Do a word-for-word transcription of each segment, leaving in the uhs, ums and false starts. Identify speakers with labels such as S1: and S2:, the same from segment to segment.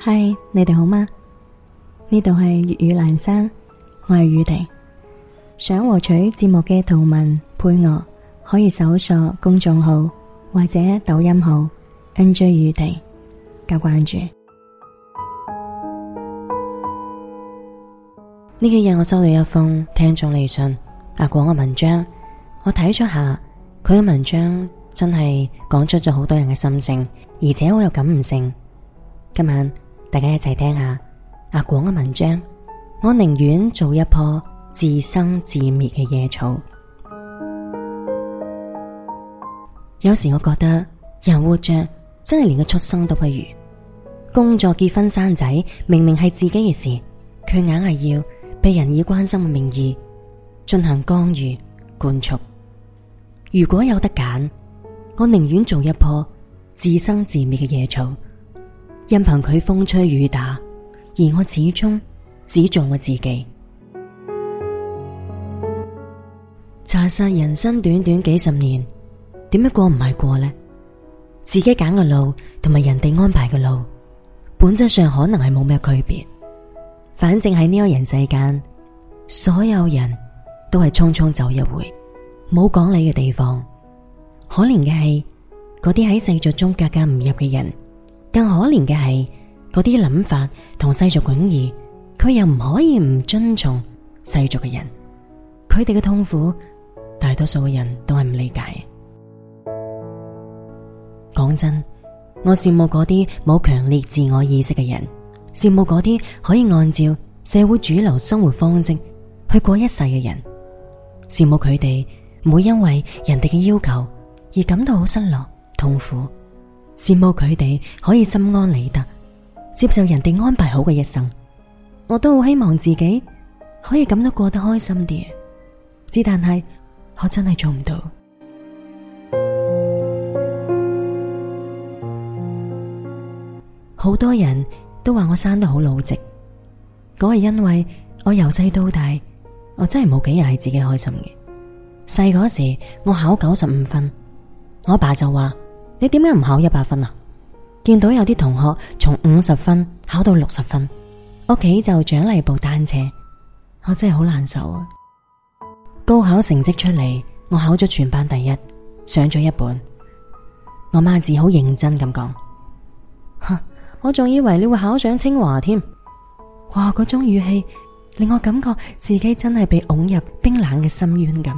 S1: 嗨，你哋好嗎？呢度係粵語蘭山，我係宇婷。想獲取節目嘅圖文配樂，可以搜索公眾號或者抖音號 N J 宇婷加關注。呢幾日我收到一封聽眾嚟信，阿廣嘅文章，我睇咗下佢嘅文章，真係講出咗好多人嘅心聲，而且好有感悟性。今晚大家一齊聽下阿廣嘅文章。我寧願做一棵自生自滅嘅野草。有時我覺得人活着真係連個畜生都不如。工作、結婚、生仔，明明係自己嘅事，卻硬係要被人以關心嘅名義進行干預管束。如果有得揀，我寧願做一棵自生自滅嘅野草，任憑佢風吹雨打，而我始終只做我自己。查實人生短短幾十年，點樣過唔係過呢？自己揀嘅路同埋人哋安排嘅路，本質上可能係冇咩區別。反正喺呢個人世間，所有人都係匆匆走一回，冇講理嘅地方。可憐嘅係嗰啲喺世俗中格格唔入嘅人，更可憐嘅係嗰啲諗法同世俗迥異，佢又唔可以唔遵從世俗嘅人。佢哋嘅痛苦，大多數嘅人都係唔理解。講真，我羨慕嗰啲冇強烈自我意識嘅人，羨慕嗰啲可以按照社會主流生活方式去過一世嘅人，羨慕佢哋唔會因為人哋嘅要求而感到好失落痛苦，羨慕佢哋可以心安理得接受人哋安排好嘅一生。我都好希望自己可以咁都過得開心啲，只但係我真係做唔到。好多人都話我生得好老直，嗰係因為我由細到大，我真係冇幾日係自己開心嘅。細嗰時我考九十五分，我爸就話：你點解唔考一百分啊？見到有啲同學從五十分考到六十分，屋企就獎勵部單車，我真係好難受啊！高考成績出嚟，我考咗全班第一，上咗一本。我媽子好認真咁講：哼，我仲以為你會考上清華添。哇，嗰種語氣令我感覺自己真係被擁入冰冷嘅深淵咁。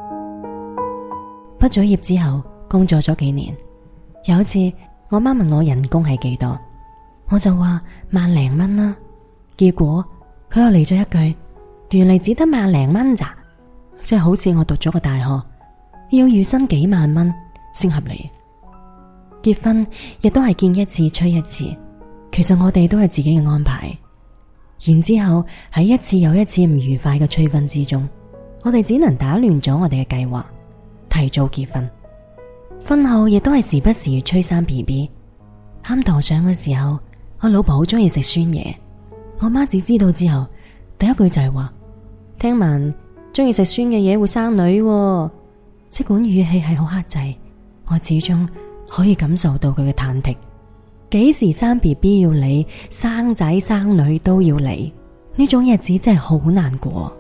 S1: 畢咗業之後，工作咗幾年，有一次我媽問我人工係幾多，我就話萬零蚊啦。結果佢又嚟咗一句：原嚟只得萬零蚊咋？即係好似我讀咗個大學，要月薪幾萬蚊先合理。結婚亦都係見一次催一次，其實我哋都係自己嘅安排。然之後喺一次又一次唔愉快嘅催婚之中，我哋只能打亂咗我哋嘅計劃，提早結婚。婚後亦都係時不時催生 B B。啱陀上嘅時候，我老婆好中意食酸嘢，我媽子知道之後，第一句就係話：聽聞中意食酸嘅嘢會生女喎。即管語氣係好克制，我始終可以感受到佢嘅忐忑。幾時生 B B 要理，生仔生女都要理，呢種日子真係好難過。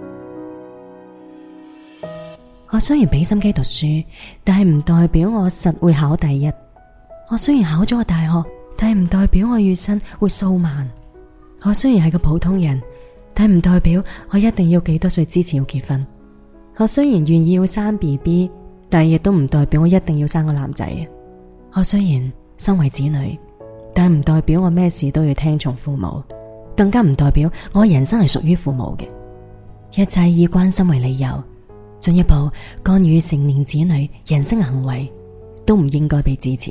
S1: 我雖然俾心機讀書，但係唔代表我實會考第一。我雖然考咗個大學，但係唔代表我月薪會數萬。我雖然係個普通人，但係唔代表我一定要幾多歲之前要結婚。我雖然願意要生 B B， 但係亦都唔代表我一定要生個男仔。我雖然身為子女，但係唔代表我咩事都要聽從父母，更加唔代表我人生係屬於父母嘅。一切以關心為理由，進一步干預成年子女人生行為，都唔應該被支持。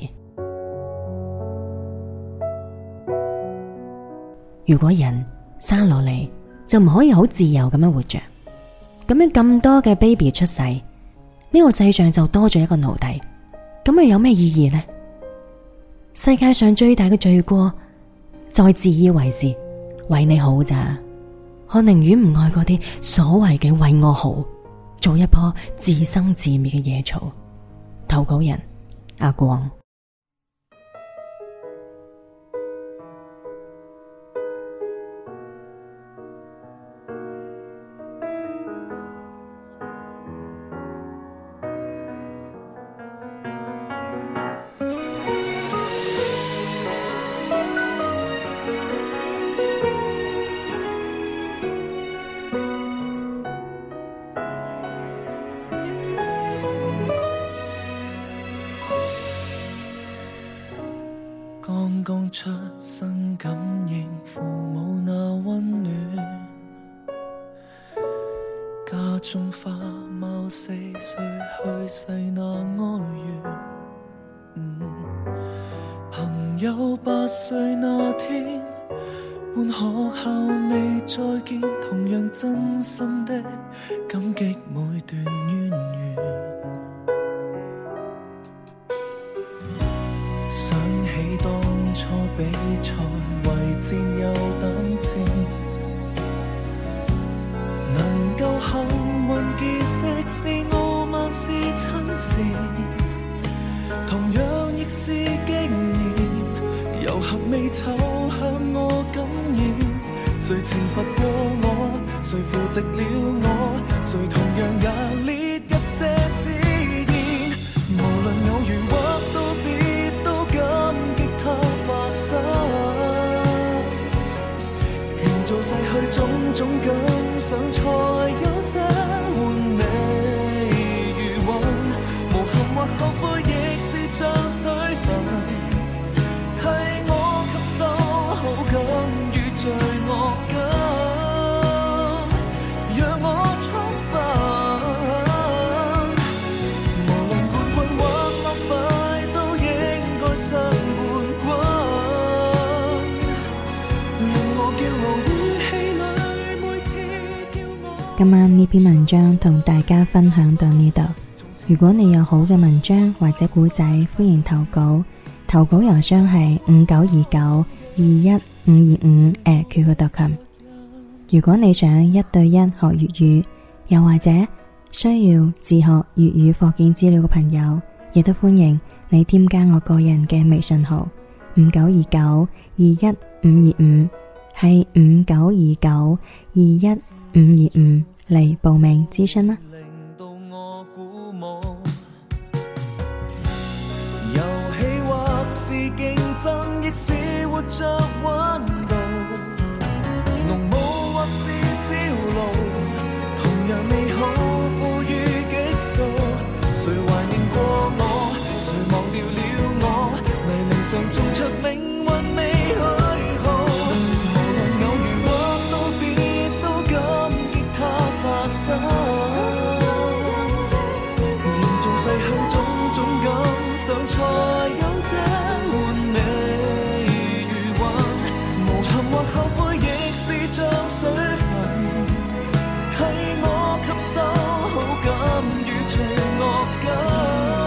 S1: 如果人生落嚟就唔可以好自由咁樣活着，咁樣咁多嘅 baby 出世，呢個世上就多咗一個奴隸，咁又有咩意義呢？世界上最大嘅罪過就係自以為是，為你好咋。我寧願唔愛嗰啲所謂嘅為我好，做一棵自生自滅嘅野草。投稿人阿廣。
S2: 剛剛出生感應父母那溫暖，家中花貓四歲去世那哀怨，嗯、朋友八歲那天換學校未再見，同樣真心的感激每段淵源。想起當初比賽為戰友膽戰，能夠幸運結識是傲慢是親善，同樣亦是經驗，遊合美醜向我感染。誰懲罰過我，誰扶植了我，誰同樣也列入這試驗。無論偶遇或道別，都感激他發生，願做逝去種種感想，才有這換美餘韻。無憾或後悔，亦是像水分，替我吸收好感與罪惡感，讓我充分。無論冠軍或落敗，都應該相伴滾。令我驕傲於戲裏，每次叫我。
S1: 今晚呢篇文章同大家分享到呢度。如果你有好嘅文章或者古仔，歡迎投稿。投稿郵箱係五九二九二一五二五 at Q Q 點 com。如果你想一對一學粵語，又或者需要自學粵語課件資料嘅朋友，亦都歡迎你添加我個人嘅微信號五九二九二一五二五，係五九二九二一五二五嚟報名諮詢啦。
S2: 令到我鼓舞，遊戲或是競爭，亦是活着溫度。濃霧或是朝露，同樣美好賦予激素。誰懷念過我，誰忘掉了我，泥濘上種出命運未許好。無論偶遇或道別，都感激它發生，願做逝去種種感想，才有這換美餘韻。無憾或後悔，亦是像水分，替我吸收好感與罪惡感，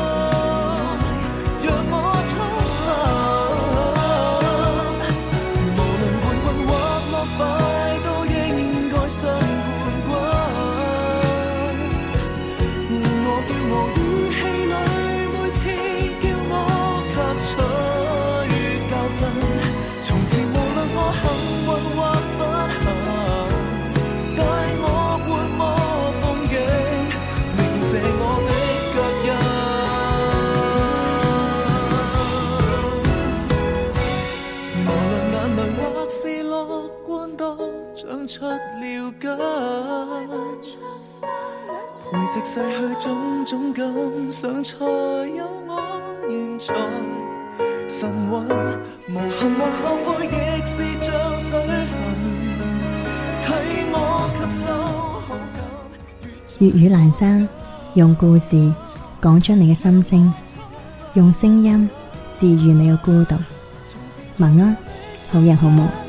S2: 讓我充分。無論冠軍或落敗，都應該相伴滾。令我驕傲於戲裏，每次叫我吸取教訓。從前無論我幸運或不幸，帶我觀摩風景，銘謝我的腳印。無論眼淚或是樂觀，都長出了根，回藉逝去種種感想，才有我現在神韻。無憾或後悔，亦是像水分，替我吸收好感。
S1: 粵語闌珊，用故事講出你嘅心聲，用聲音治愈你嘅孤獨。晚安，好人好夢。